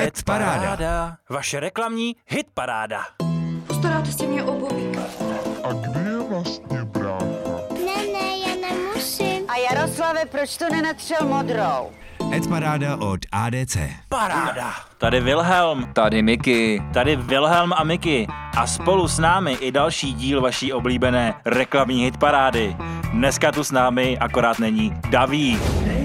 Ed Paráda. Vaše reklamní hit paráda. Postaráte si mě obuví. A kde je vlastně brácha? Ne, já nemusím. A Jaroslave, proč to nenatřel modrou? Ed Paráda od ADC. Paráda. Tady Wilhelm. Tady Miky. Tady Wilhelm a Miky. A spolu s námi i další díl vaší oblíbené reklamní hit parády. Dneska tu s námi akorát není Daví.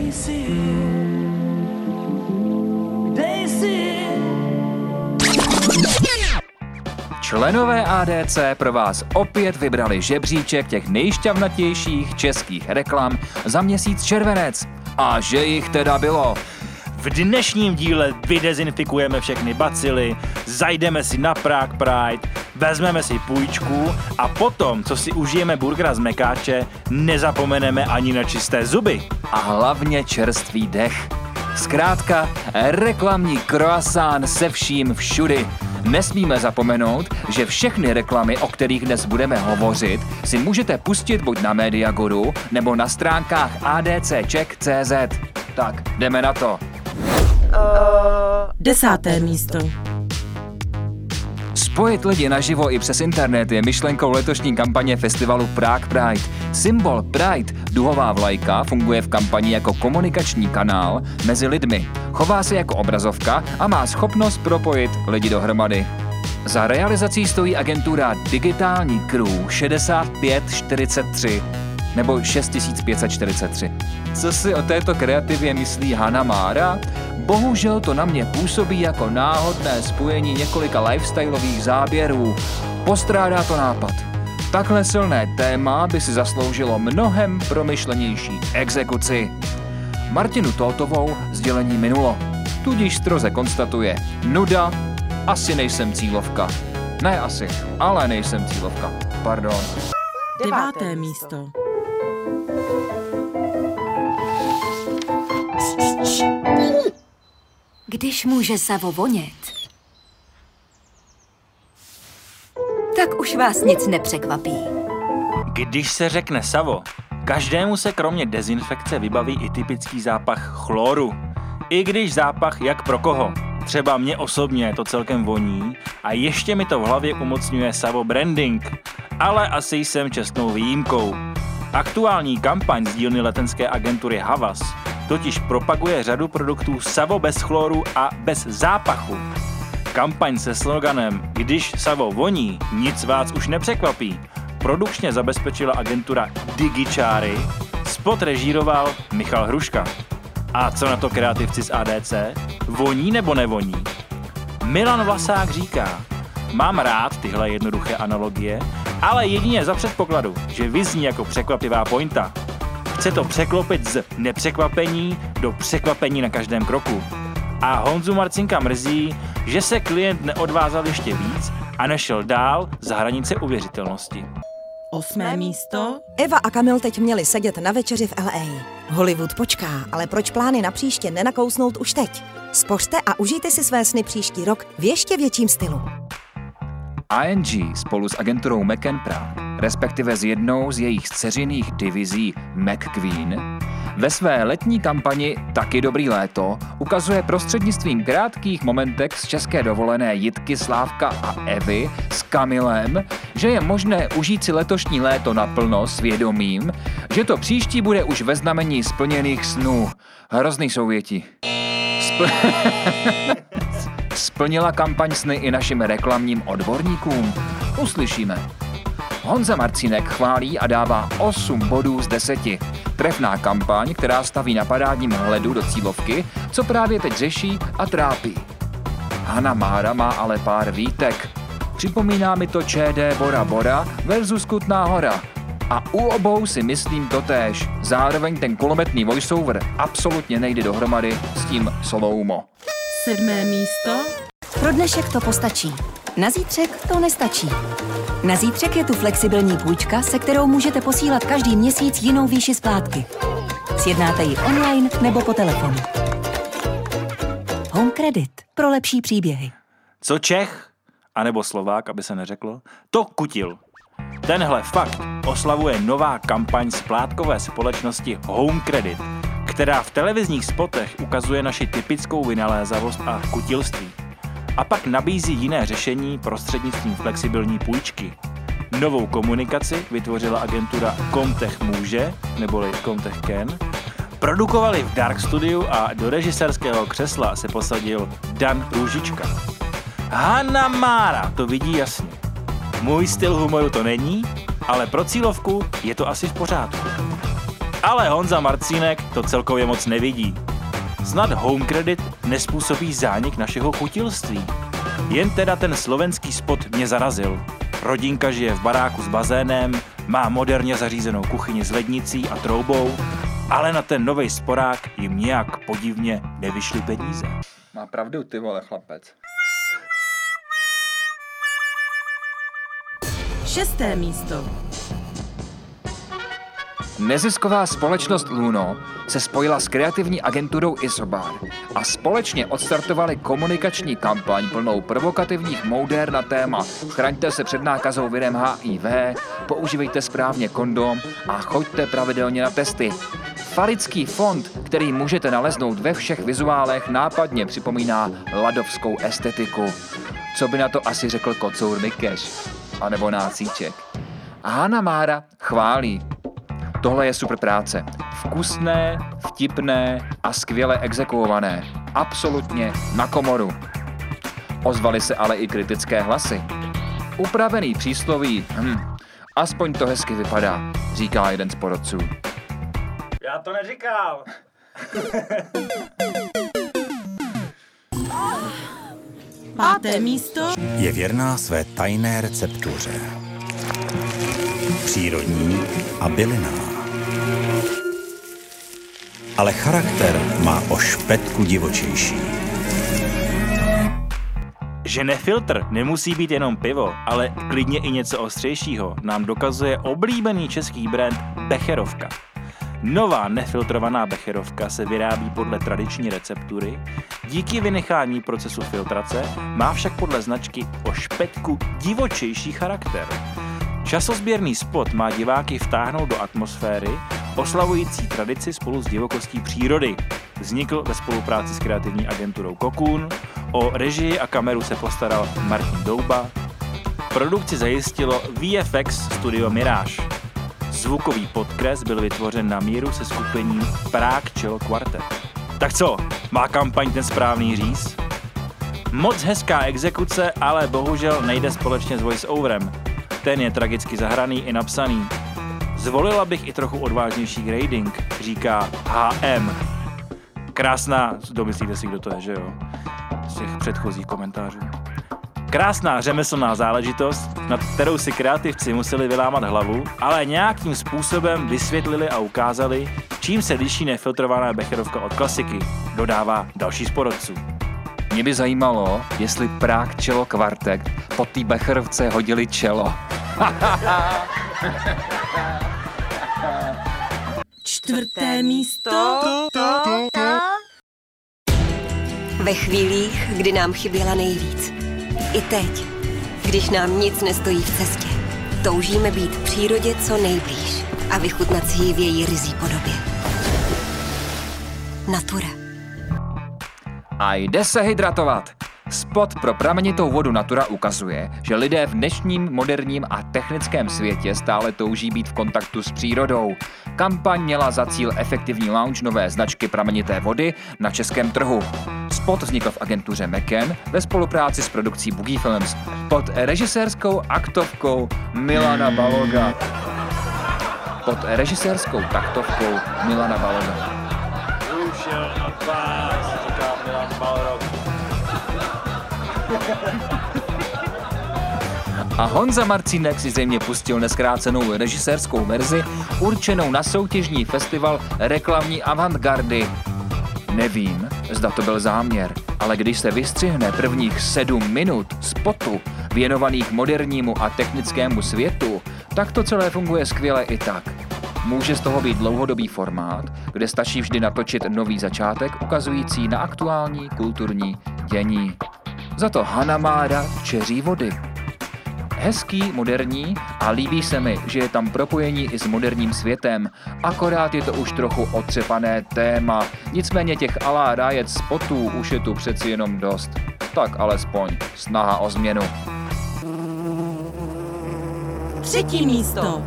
Členové ADC pro vás opět vybrali žebříček těch nejšťavnatějších českých reklam za měsíc červenec. A že jich teda bylo. V dnešním díle vydezinfikujeme všechny bacily, zajdeme si na Prague Pride, vezmeme si půjčku a potom, co si užijeme burgera z mekáče, nezapomeneme ani na čisté zuby. A hlavně čerstvý dech. Zkrátka, reklamní croissant se vším všudy. Nesmíme zapomenout, že všechny reklamy, o kterých dnes budeme hovořit, si můžete pustit buď na Mediaguru, nebo na stránkách adccheck.cz. Tak, jdeme na to. 10. místo. Spojit lidi naživo i přes internet je myšlenkou letošní kampaně festivalu Prague Pride. Symbol Pride, duhová vlajka, funguje v kampani jako komunikační kanál mezi lidmi. Chová se jako obrazovka a má schopnost propojit lidi dohromady. Za realizací stojí agentura Digitální Crew 6543 nebo 6543. Co si o této kreativě myslí Hana Mára? Bohužel to na mě působí jako náhodné spojení několika lifestyleových záběrů. Postrádá to nápad. Takhle silné téma by si zasloužilo mnohem promyšlenější exekuci. Martinu Tótovou sdělení minulo. Tudíž stroze konstatuje: nuda, asi nejsem cílovka. Ne asi, ale nejsem cílovka. Pardon. 9. místo. Když může savo vonět, tak už vás nic nepřekvapí. Když se řekne savo, každému se kromě dezinfekce vybaví i typický zápach chloru. I když zápach jak pro koho. Třeba mě osobně to celkem voní a ještě mi to v hlavě umocňuje savo branding. Ale asi jsem čestnou výjimkou. Aktuální kampaň z dílny letenské agentury Havas totiž propaguje řadu produktů savo bez chloru a bez zápachu. Kampaň se sloganem Když savo voní, nic vás už nepřekvapí produkčně zabezpečila agentura Digičáry, spot režíroval Michal Hruška. A co na to kreativci z ADC? Voní nebo nevoní? Milan Vlasák říká: mám rád tyhle jednoduché analogie, ale jedině za předpokladu, že vyzní jako překvapivá pointa. Chce to překlopit z nepřekvapení do překvapení na každém kroku. A Honzu Marcinka mrzí, že se klient neodvázal ještě víc a nešel dál za hranice uvěřitelnosti. 8. místo. Eva a Kamil teď měli sedět na večeři v LA. Hollywood počká, ale proč plány na příště nenakousnout už teď? Spořte a užijte si své sny příští rok v ještě větším stylu. ING spolu s agenturou McCann Prague, respektive s jednou z jejich dceřiných divizí McQueen, ve své letní kampani Taky dobrý léto ukazuje prostřednictvím krátkých momentek z české dovolené Jitky, Slávka a Evy s Kamilem, že je možné užít si letošní léto naplno s vědomím, že to příští bude už ve znamení splněných snů. Hrozný souvětí. Splnila kampaň sny i našim reklamním odborníkům? Uslyšíme. Honza Marcínek chválí a dává 8 bodů z 10. Trefná kampaň, která staví na parádním hledu do cílovky, co právě teď řeší a trápí. Hana Mára má ale pár výtek. Připomíná mi to ČD Bora Bora versus Kutná Hora. A u obou si myslím totéž. Zároveň ten kulometný voiceover absolutně nejde dohromady s tím slow-mo. 7. místo. Pro dnešek to postačí. Na zítřek to nestačí. Na zítřek je tu flexibilní půjčka, se kterou můžete posílat každý měsíc jinou výši splátky. Sjednáte ji online nebo po telefonu. Home Credit. Pro lepší příběhy. Co Čech, anebo Slovák, aby se neřeklo, to kutil. Tenhle fakt oslavuje nová kampaň splátkové společnosti Home Credit, která v televizních spotech ukazuje naši typickou vynalézavost a kutilství. A pak nabízí jiné řešení prostřednictvím flexibilní půjčky. Novou komunikaci vytvořila agentura Comtech Může, neboli Comtech Ken. Produkovali v Dark Studiu a do režisérského křesla se posadil Dan Růžička. Hanna Mára to vidí jasně. Můj styl humoru to není, ale pro cílovku je to asi v pořádku. Ale Honza Marcínek to celkově moc nevidí. Snad home credit nespůsobí zánik našeho chutilství. Jen teda ten slovenský spot mě zarazil. Rodinka žije v baráku s bazénem, má moderně zařízenou kuchyni s lednicí a troubou, ale na ten novej sporák jim nějak podivně nevyšly peníze. Má pravdu, ty vole, chlapec. 6. místo. Nezisková společnost Luno se spojila s kreativní agenturou Isobar a společně odstartovali komunikační kampaň plnou provokativních mouder na téma chraňte se před nákazou virem HIV, používejte správně kondom a choďte pravidelně na testy. Falický fond, který můžete naleznout ve všech vizuálech, nápadně připomíná ladovskou estetiku. Co by na to asi řekl kocour Mikeš? A nebo nácíček. A Hanna Mára chválí. Tohle je super práce. Vkusné, vtipné a skvěle exekuované. Absolutně na komoru. Ozvaly se ale i kritické hlasy. Upravený přísloví, aspoň to hezky vypadá, říká jeden z porodců. Já to neříkal. Páté místo. Je věrná své tajné receptuře. Přírodní a bylinná. Ale charakter má o špetku divočejší. Že nefiltr nemusí být jenom pivo, ale klidně i něco ostřejšího, nám dokazuje oblíbený český brand Becherovka. Nová nefiltrovaná becherovka se vyrábí podle tradiční receptury, díky vynechání procesu filtrace má však podle značky o špetku divočejší charakter. Časozběrný spot má diváky vtáhnout do atmosféry, oslavující tradici spolu s divokostí přírody. Vznikl ve spolupráci s kreativní agenturou Cocoon, o režii a kameru se postaral Martin Douba, produkci zajistilo VFX studio Mirage. Zvukový podkres byl vytvořen na míru se skupením Prague Cello Quartet. Tak co, má kampaň ten správný říz? Moc hezká exekuce, ale bohužel nejde společně s voice-overem. Ten je tragicky zahraný i napsaný. Zvolila bych i trochu odvážnější grading, říká HM. Krásná, domyslíte si, kdo to je, že jo? Z těch předchozích komentářů. Krásná řemeslná záležitost, nad kterou si kreativci museli vylámat hlavu, ale nějakým způsobem vysvětlili a ukázali, čím se liší nefiltrovaná becherovka od klasiky, dodává další z porodců. Mě by zajímalo, jestli Prague Cello Quartet po té becherovce hodili čelo. 4. místo. Ve chvílích, kdy nám chyběla nejvíc. I teď, když nám nic nestojí v cestě. Toužíme být přírodě co nejblíž a vychutnat si ji v její ryzí podobě. Natura. A jde se hydratovat. Spot pro pramenitou vodu Natura ukazuje, že lidé v dnešním moderním a technickém světě stále touží být v kontaktu s přírodou. Kampaň měla za cíl efektivní launch nové značky pramenité vody na českém trhu. Spot vznikl v agentuře McCann ve spolupráci s produkcí Boogie Films pod režisérskou aktovkou Milana Baloga. Pod režisérskou taktovkou Milana Baloga. Ušel od vás, říká Milan Balrog. A Honza Marcínek si zřejmě pustil neskrácenou režisérskou verzi určenou na soutěžní festival reklamní avantgardy. Nevím, zda to byl záměr, ale když se vystřihne prvních 7 minut spotu věnovaných modernímu a technickému světu, tak to celé funguje skvěle i tak. Může z toho být dlouhodobý formát, kde stačí vždy natočit nový začátek ukazující na aktuální kulturní dění. Za to Hanna Mára čeří vody. Hezký, moderní a líbí se mi, že je tam propojení i s moderním světem. Akorát je to už trochu otřepané téma. Nicméně těch à la Riot spotů už je tu přeci jenom dost. Tak alespoň snaha o změnu. 3. místo.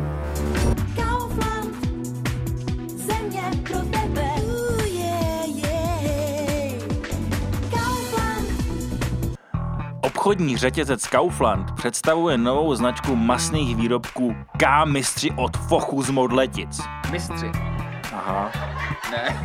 Obchodní řetězec Kaufland představuje novou značku masných výrobků K-mistři od Fochu z Modletic. Mistři. Aha. Ne.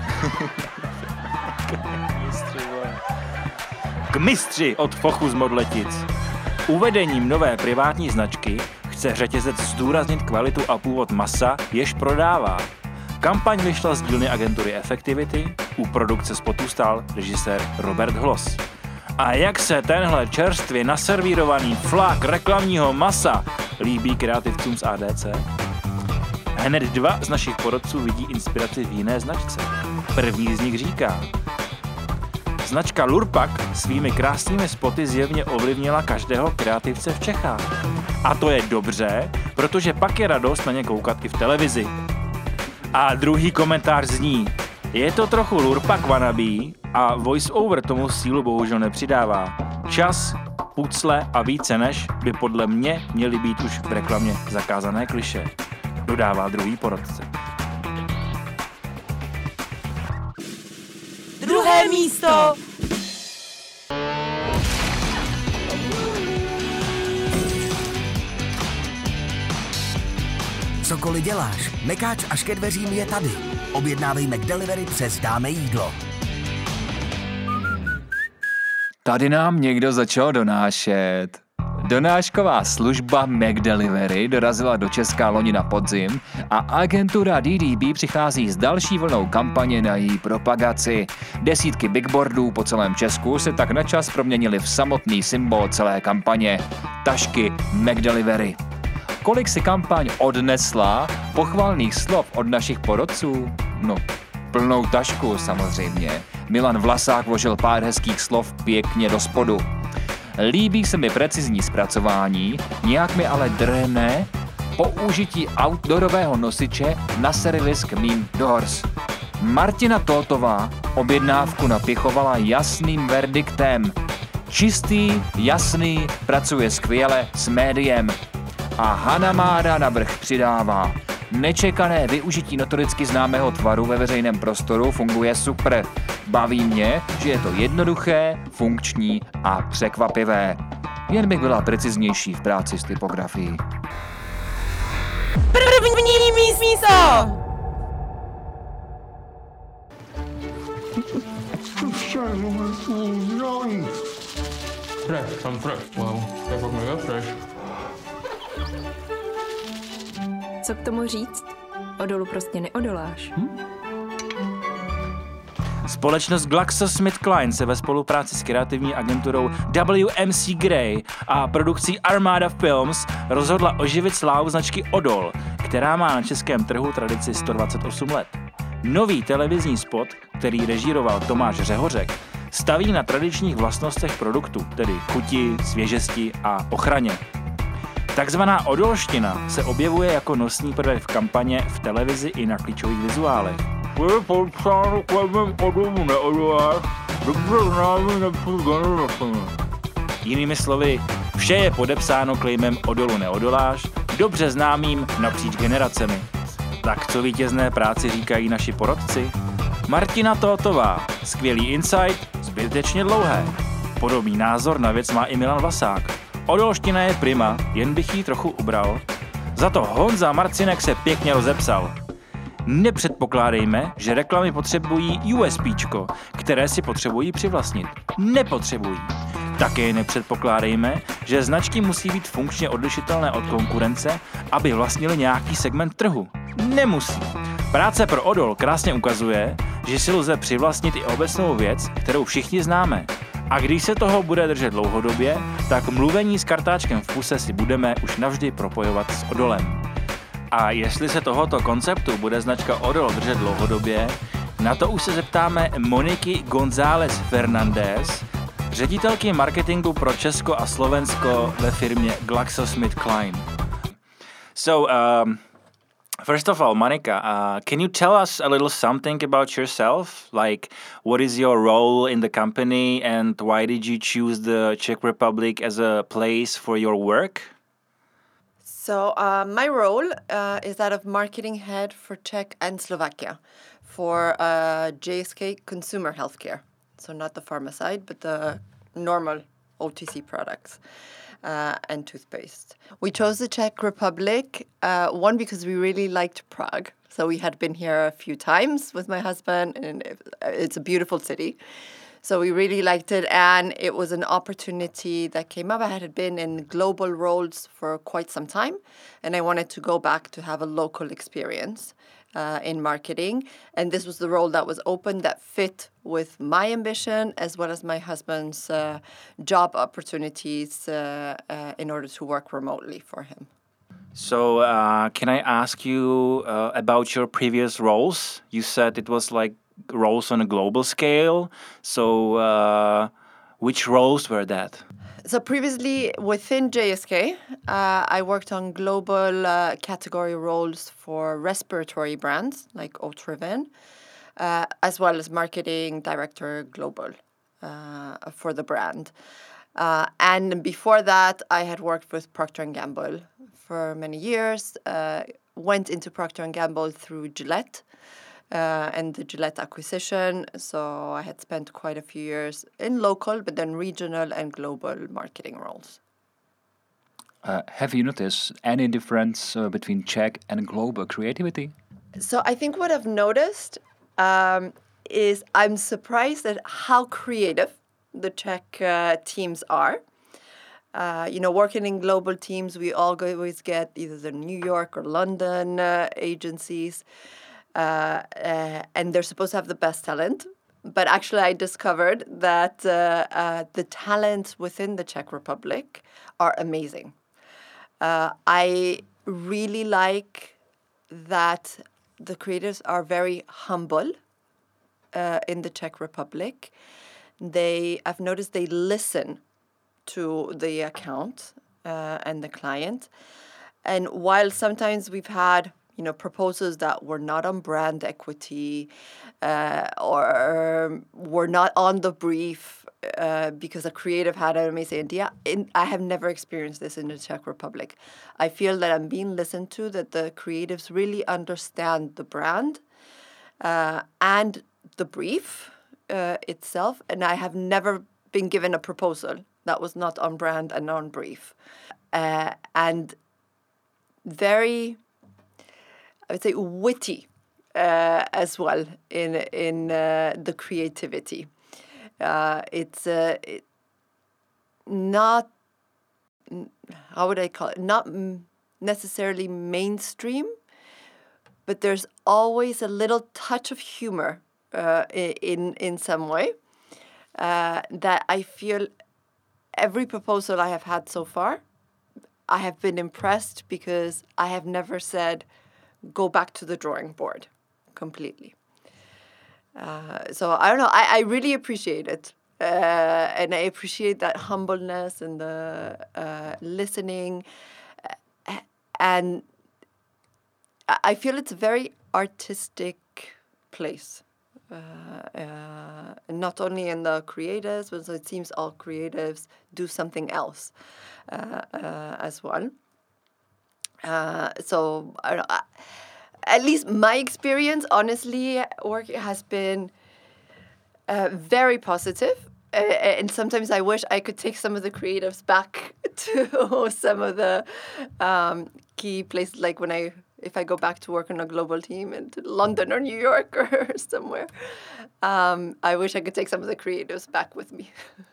K-mistři od Fochu z Modletic. Uvedením nové privátní značky chce řetězec zdůraznit kvalitu a původ masa, jež prodává. Kampaň vyšla z dílny agentury Effectivity, u produkce spotu stál režisér Robert Hloss. A jak se tenhle čerstvě naservírovaný flak reklamního masa líbí kreativcům z ADC? Hned 2 z našich porodců vidí inspiraci v jiné značce. První z nich říká: značka Lurpak svými krásnými spoty zjevně ovlivnila každého kreativce v Čechách. A to je dobře, protože pak je radost na ně koukat i v televizi. A druhý komentář zní: je to trochu Lurpak wannabe a voice-over tomu sílu bohužel nepřidává. Čas, pucle a více než by podle mě měly být už v reklamě zakázané klišé, dodává druhý porodce. 2. místo. Cokoliv děláš, mekáč až ke dveřím je tady. Objednávej McDelivery přes Dáme jídlo. Tady nám někdo začal donášet. Donášková služba McDelivery dorazila do Česka loni na podzim a agentura DDB přichází s další vlnou kampaně na její propagaci. Desítky bigboardů po celém Česku se tak načas proměnily v samotný symbol celé kampaně – tašky McDelivery. Kolik si kampaň odnesla pochvalných slov od našich porodců? No, plnou tašku samozřejmě. Milan Vlasák vložil pár hezkých slov pěkně do spodu. Líbí se mi precizní zpracování, nějak mi ale drhne použití outdoorového nosiče na servis k mým doors. Martina Tótová objednávku napěchovala jasným verdiktem. Čistý, jasný, pracuje skvěle s médiem. A Hana Mára navrch přidává: nečekané využití notoricky známého tvaru ve veřejném prostoru funguje super. Baví mě, že je to jednoduché, funkční a překvapivé. Jen bych byla preciznější v práci s typografií. 1. místo. Fresh, jsem fresh, wow, to je fakt mega fresh. Co k tomu říct? Odolu prostě neodoláš. Společnost GlaxoSmithKline se ve spolupráci s kreativní agenturou WMC Grey a produkcí Armada Films rozhodla oživit slávu značky Odol, která má na českém trhu tradici 128 let. Nový televizní spot, který režíroval Tomáš Řehořek, staví na tradičních vlastnostech produktu, tedy chuti, svěžesti a ochraně. Takzvaná odolština se objevuje jako nosný prvek v kampaně v televizi i na klíčových vizuálech. Je podpsáno klemem odolu neodoláš, dobře známý napříč generacemi. Jinými slovy, vše je podepsáno klejmem odolu neodoláš, dobře známým napříč generacemi. Tak co vítězné práci říkají naši porodci? Martina Tótová, skvělý insight, zbytečně dlouhé. Podobný názor na věc má i Milan Vlasák. Odolština je prima, jen bych jí trochu ubral. Za to Honza Marcinek se pěkně rozepsal. Nepředpokládejme, že reklamy potřebují USPčko, které si potřebují přivlastnit. Nepotřebují. Také nepředpokládejme, že značky musí být funkčně odlišitelné od konkurence, aby vlastnili nějaký segment trhu. Nemusí. Práce pro Odol krásně ukazuje, že si lze přivlastnit i obecnou věc, kterou všichni známe. A když se toho bude držet dlouhodobě, tak mluvení s kartáčkem v puse si budeme už navždy propojovat s Odolem. A jestli se tohoto konceptu bude značka Odol držet dlouhodobě, na to už se zeptáme Moniky González Fernández, ředitelky marketingu pro Česko a Slovensko ve firmě GlaxoSmithKline. So, first of all, Monika, can you tell us a little something about yourself? Like, what is your role in the company and why did you choose the Czech Republic as a place for your work? So my role is that of marketing head for Czech and Slovakia for JSK Consumer Healthcare. So not the pharma side, but the normal OTC products and toothpaste. We chose the Czech Republic, one, because we really liked Prague. So we had been here a few times with my husband, and it's a beautiful city. So we really liked it, and it was an opportunity that came up. I had been in global roles for quite some time, and I wanted to go back to have a local experience in marketing. And this was the role that was open that fit with my ambition as well as my husband's job opportunities in order to work remotely for him. So can I ask you about your previous roles? You said it was like roles on a global scale. So which roles were that? So previously within JSK, I worked on global category roles for respiratory brands like Otriven, as well as marketing director global for the brand. And before that, I had worked with Procter & Gamble for many years, went into Procter & Gamble through Gillette, and the Gillette acquisition. So I had spent quite a few years in local, but then regional and global marketing roles. Have you noticed any difference between Czech and global creativity? So I think what I've noticed is I'm surprised at how creative the Czech teams are. Working in global teams, we always get either the New York or London agencies. And they're supposed to have the best talent. But actually, I discovered that the talents within the Czech Republic are amazing. I really like that the creators are very humble in the Czech Republic. I've noticed they listen to the account and the client. And while sometimes we've had proposals that were not on brand equity or were not on the brief because a creative had an amazing idea. I have never experienced this in the Czech Republic. I feel that I'm being listened to, that the creatives really understand the brand and the brief itself. And I have never been given a proposal that was not on brand and on brief. And very, I would say, witty as well in the creativity. It's not, how would I call it? Not necessarily mainstream, but there's always a little touch of humor in some way that I feel every proposal I have had so far, I have been impressed because I have never said, go back to the drawing board completely. So I don't know, I really appreciate it. And I appreciate that humbleness and the listening. And I feel it's a very artistic place. Not only in the creatives, but it seems all creatives do something else as well. So I don't know, at least my experience, honestly, work has been very positive. And sometimes I wish I could take some of the creatives back to some of the key places, like if I go back to work on a global team in London or New York or somewhere. I wish I could take some of the creatives back with me.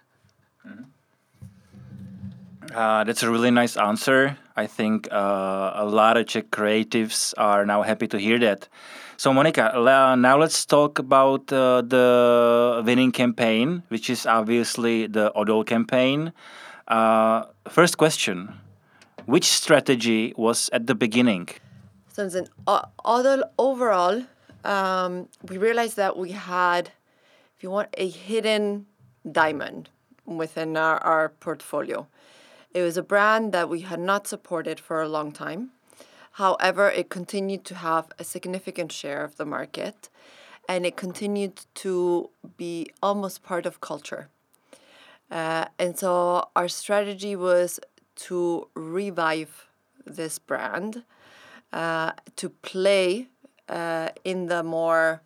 That's a really nice answer. I think a lot of Czech creatives are now happy to hear that. So, Monika, now let's talk about the winning campaign, which is obviously the Odol campaign. First question, which strategy was at the beginning? So, as an Odol overall, we realized that we had, if you want, a hidden diamond within our portfolio. It was a brand that we had not supported for a long time. However, it continued to have a significant share of the market, and it continued to be almost part of culture. And so our strategy was to revive this brand, to play in the more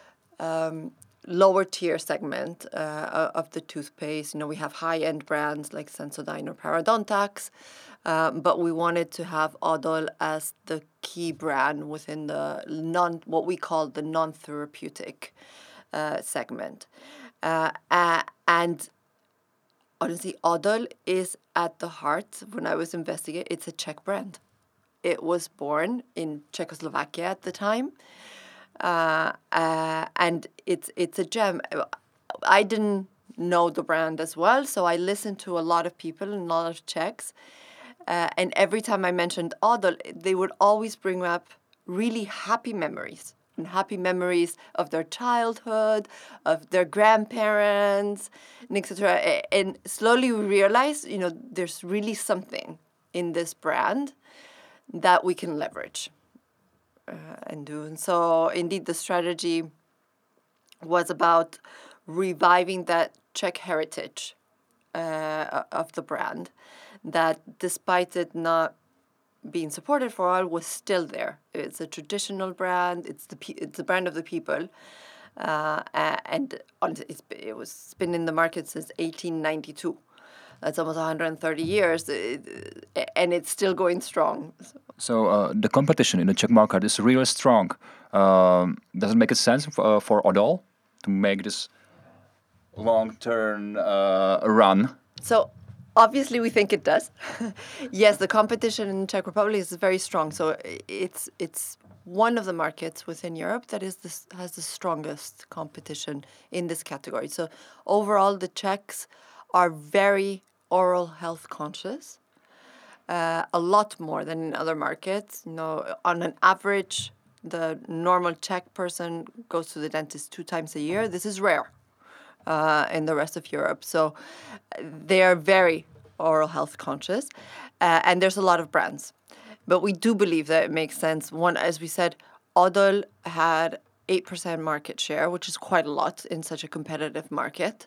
lower tier segment of the toothpaste. You know, we have high-end brands like Sensodyne or Parodontax, but we wanted to have Odol as the key brand within the what we call the non-therapeutic segment. And honestly, Odol is at the heart. When I was investigating, it's a Czech brand. It was born in Czechoslovakia at the time. And it's a gem. I didn't know the brand as well, so I listened to a lot of people and a lot of Czechs. And every time I mentioned Odol, they would always bring up really happy memories. And happy memories of their childhood, of their grandparents, and etc. And slowly we realized, you know, there's really something in this brand that we can leverage. And do. And so indeed the strategy was about reviving that Czech heritage of the brand, that despite it not being supported for a while, was still there. It's a traditional brand. It's the brand of the people, and it was been in the market since 1892. That's almost 130 years, and it's still going strong. So the competition in the Czech market is really strong. Does it make sense for Odol to make this long-term run? So obviously we think it does. Yes, the competition in the Czech Republic is very strong. So it's one of the markets within Europe that has the strongest competition in this category. So overall, the Czechs are very oral health conscious. A lot more than in other markets. You know, on an average, the normal Czech person goes to the dentist 2 times a year. This is rare in the rest of Europe. So they are very oral health conscious, and there's a lot of brands. But we do believe that it makes sense. One, as we said, Odol had 8% market share, which is quite a lot in such a competitive market,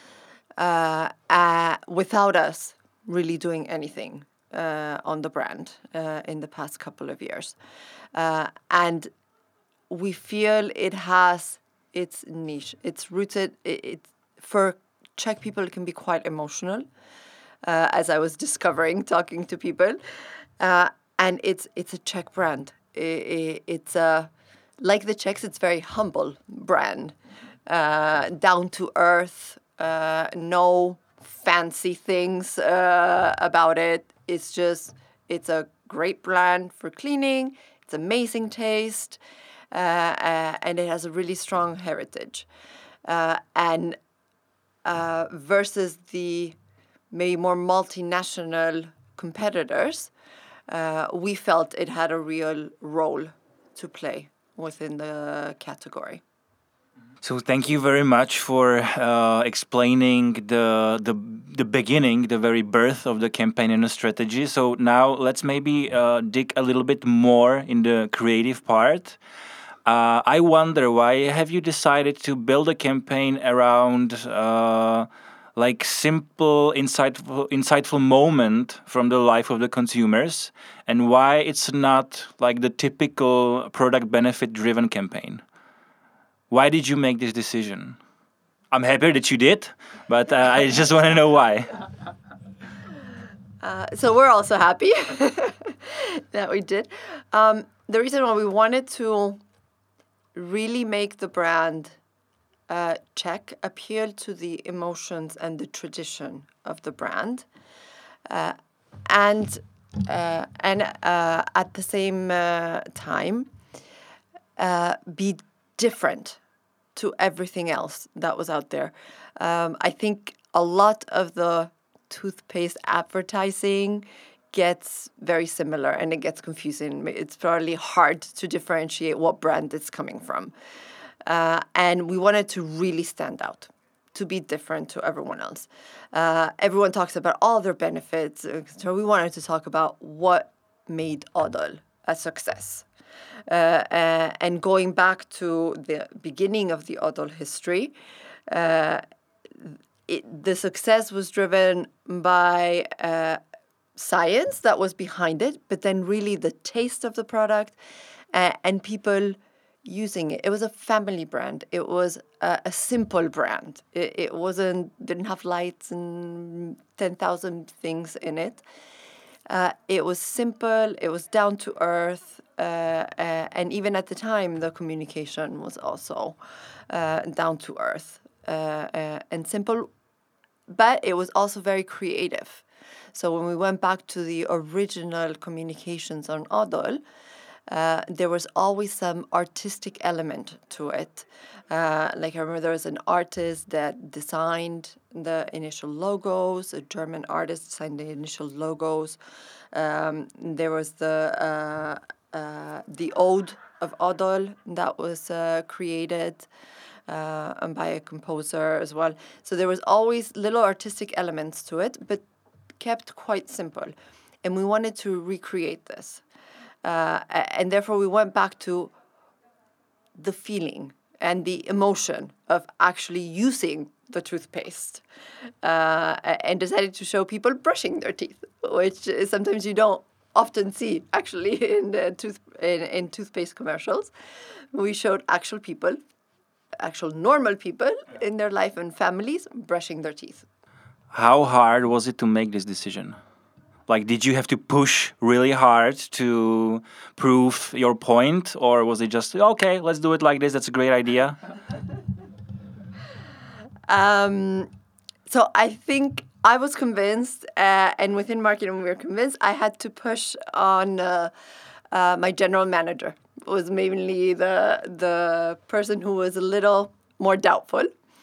without us really doing anything on the brand in the past couple of years. And we feel it has its niche. It's rooted, for Czech people, it can be quite emotional, as I was discovering talking to people. And it's a Czech brand. It's like the Czechs, it's very humble brand, down to earth, no fancy things about it. It's a great brand for cleaning. It's amazing taste, and it has a really strong heritage. And versus the maybe more multinational competitors, we felt it had a real role to play within the category. So thank you very much for explaining the beginning, the very birth of the campaign and the strategy. So now let's maybe dig a little bit more in the creative part. I wonder, why have you decided to build a campaign around like simple, insightful moment from the life of the consumers, and why it's not like the typical product benefit driven campaign? Why did you make this decision? I'm happy that you did, but I just want to know why. So we're also happy that we did. The reason why we wanted to really make the brand Czech appeal to the emotions and the tradition of the brand, and at the same time be different to everything else that was out there. I think a lot of the toothpaste advertising gets very similar and it gets confusing. It's probably hard to differentiate what brand it's coming from. And we wanted to really stand out. to be different to everyone else. Everyone talks about all their benefits, so we wanted to talk about what made Odol a success. And going back to the beginning of the Odol history, the success was driven by science that was behind it, but then really the taste of the product and people using it. It was a family brand. It was a simple brand. It didn't have lights and 10,000 things in it. It was simple. It was down to earth. And even at the time, the communication was also down to earth and simple. But it was also very creative. So when we went back to the original communications on Odol, there was always some artistic element to it. Like I remember there was an artist that designed the initial logos, a German artist designed the initial logos. There was the Ode of Odol that was created by a composer as well. So there was always little artistic elements to it, but kept quite simple. And we wanted to recreate this. And therefore we went back to the feeling and the emotion of actually using the toothpaste and decided to show people brushing their teeth, which is sometimes you don't often see actually in toothpaste commercials. We showed actual people, actual normal people in their life and families brushing their teeth. How hard was it to make this decision? Like, did you have to push really hard to prove your point? Or was it just, okay, let's do it like this, that's a great idea? So I think I was convinced, and within marketing we were convinced, I had to push on my general manager. It was mainly the person who was a little more doubtful.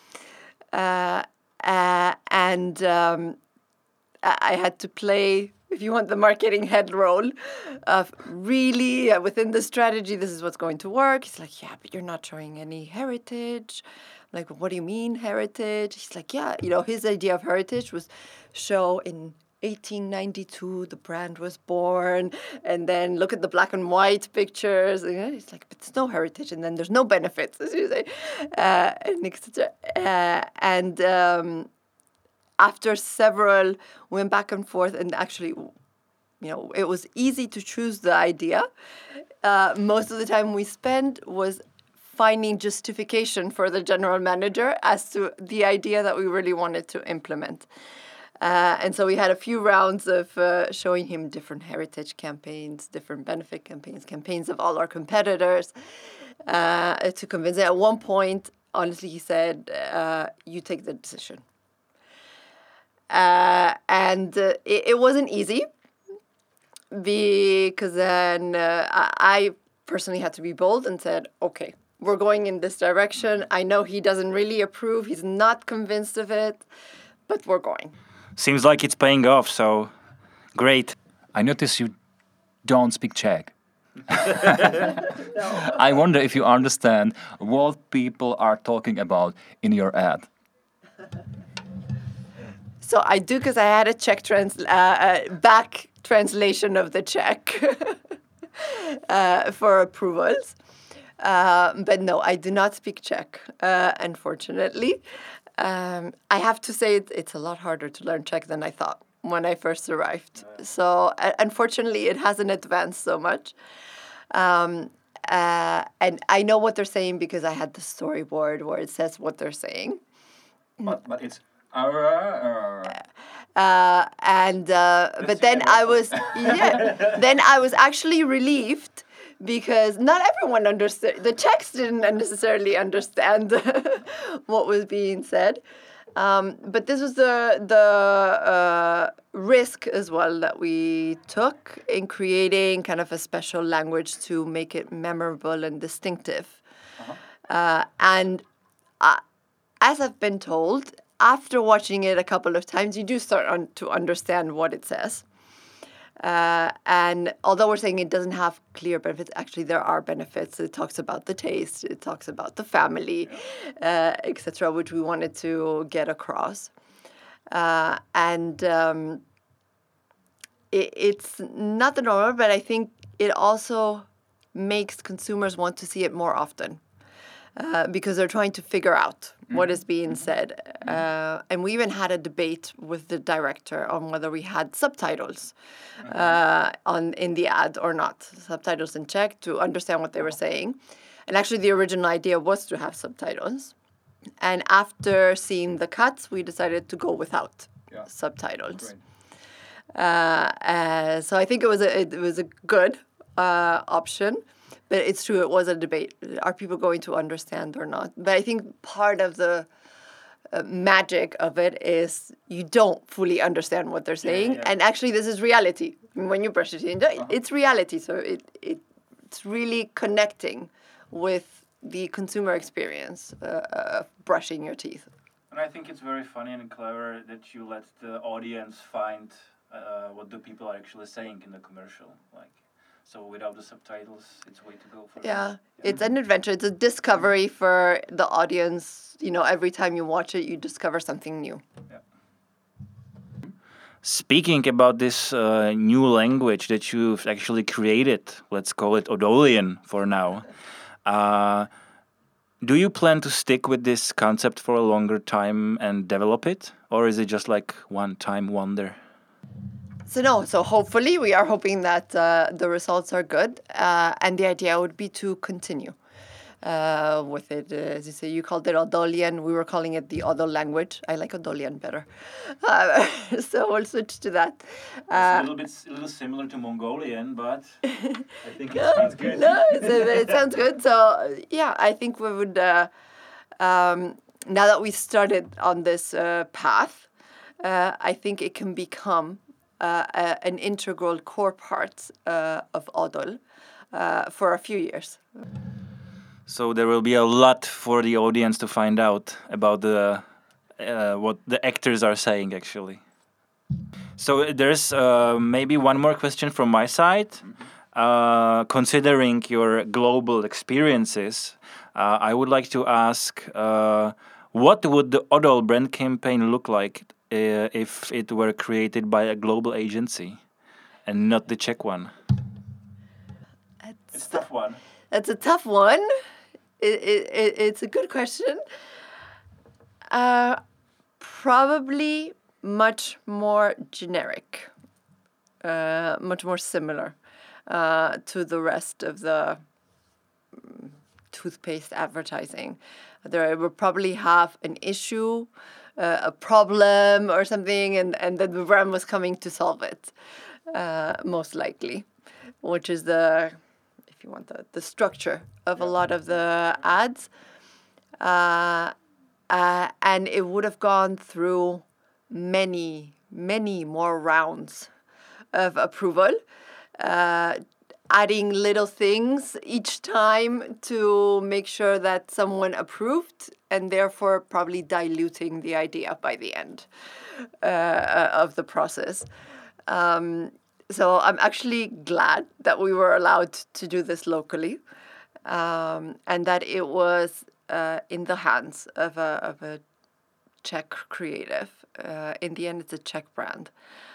And I had to play, if you want, the marketing head role of really within the strategy, this is what's going to work. He's like, yeah, but you're not showing any heritage. I'm like, what do you mean heritage? He's like, yeah, his idea of heritage was show in 1892 the brand was born, and then look at the black and white pictures. And it's like, but there's no heritage, and then there's no benefits, as you say, and etc. After several, went back and forth, and actually, it was easy to choose the idea. Most of the time we spent was finding justification for the general manager as to the idea that we really wanted to implement. And so we had a few rounds of showing him different heritage campaigns, different benefit campaigns of all our competitors to convince him. At one point, honestly, he said, you take the decision. And it wasn't easy because then I personally had to be bold and said, okay, we're going in this direction. I know he doesn't really approve. He's not convinced of it, but we're going. Seems like it's paying off, so great. I notice you don't speak Czech. No. I wonder if you understand what people are talking about in your ad. So I do, because I had a Czech back translation of the Czech for approvals. But no, I do not speak Czech, unfortunately. I have to say it's a lot harder to learn Czech than I thought when I first arrived. So unfortunately, it hasn't advanced so much. And I know what they're saying because I had the storyboard where it says what they're saying. But it's... But then I was actually relieved because not everyone understood. The Czechs didn't necessarily understand what was being said. But this was the risk as well that we took in creating kind of a special language to make it memorable and distinctive. And as I've been told, after watching it a couple of times, you do start to understand what it says. And although we're saying it doesn't have clear benefits, actually there are benefits. It talks about the taste, it talks about the family, etc., which we wanted to get across. It's not the normal, but I think it also makes consumers want to see it more often. Because they're trying to figure out what is being said. And we even had a debate with the director on whether we had subtitles in the ad or not. Subtitles in Czech to understand what they were saying. And actually the original idea was to have subtitles. And after seeing the cuts, we decided to go without subtitles. So I think it was a good option. But it's true, it was a debate. Are people going to understand or not? But I think part of the magic of it is you don't fully understand what they're saying. Yeah. And actually, this is reality. When you brush your teeth, it's reality. So it's really connecting with the consumer experience of brushing your teeth. And I think it's very funny and clever that you let the audience find what the people are actually saying in the commercial. So without the subtitles, it's a way to go for them. It's an adventure. It's a discovery for the audience. Every time you watch it, you discover something new. Yeah. Speaking about this new language that you've actually created, let's call it Odolian for now. Do you plan to stick with this concept for a longer time and develop it? Or is it just like one-time wonder? So hopefully we are hoping that the results are good, and the idea would be to continue with it. As you say, you called it Odolian. We were calling it the Odol language. I like Odolian better, so we'll switch to that. It's a little similar to Mongolian, but I think it sounds good. It sounds good. So I think we would now that we started on this path, I think it can become an integral core part of Odol for a few years. So there will be a lot for the audience to find out about what the actors are saying, actually. So there's maybe one more question from my side. Considering your global experiences, I would like to ask, what would the Odol brand campaign look like if it were created by a global agency and not the Czech one? It's a tough one. That's a tough one. It's a good question. Probably much more generic, much more similar to the rest of the toothpaste advertising. There will probably have an issue, a problem or something, and then the brand was coming to solve it, most likely, which is the structure of a lot of the ads. And it would have gone through many, many more rounds of approval, adding little things each time to make sure that someone approved, and therefore probably diluting the idea by the end of the process. So I'm actually glad that we were allowed to do this locally, and that it was in the hands of a Czech creative. In the end, it's a Czech brand.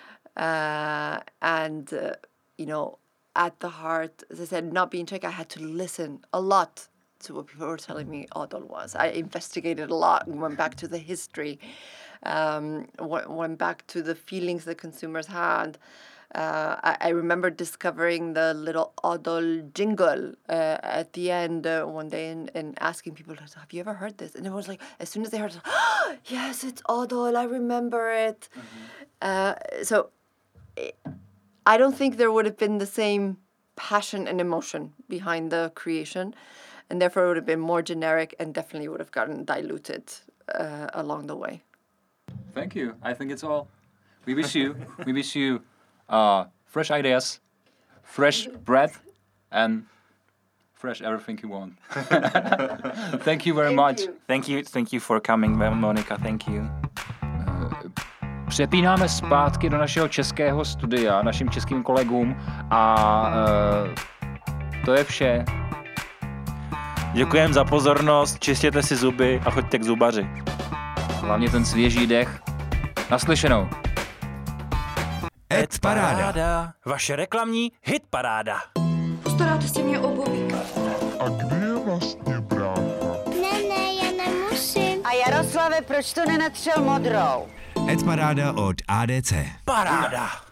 At the heart, as I said, not being Czech, I had to listen a lot to what people were telling me Odol was. I investigated a lot and went back to the history, went back to the feelings that consumers had. I remember discovering the little Odol jingle at the end one day and asking people, have you ever heard this? And it was like, as soon as they heard it, oh, yes, it's Odol, I remember it. So I don't think there would have been the same passion and emotion behind the creation, and therefore it would have been more generic and definitely would have gotten diluted along the way. Thank you. I think it's all. We wish you fresh ideas, fresh breath, and fresh everything you want. Thank you very much. Thank you for coming, Monica. Thank you. přepínáme zpátky do našeho českého studia, našim českým kolegům a to je vše. Děkujem za pozornost, čistěte si zuby a choďte k zubaři. Hlavně ten svěží dech. Naslyšenou. Ed Paráda. Vaše reklamní hitparáda. Postaráte si mě o Bobíka. A kde je vlastně brácha? Ne, já nemusím. A Jaroslave, proč to nenatřel modrou? Ed Paráda od ADC. Paráda.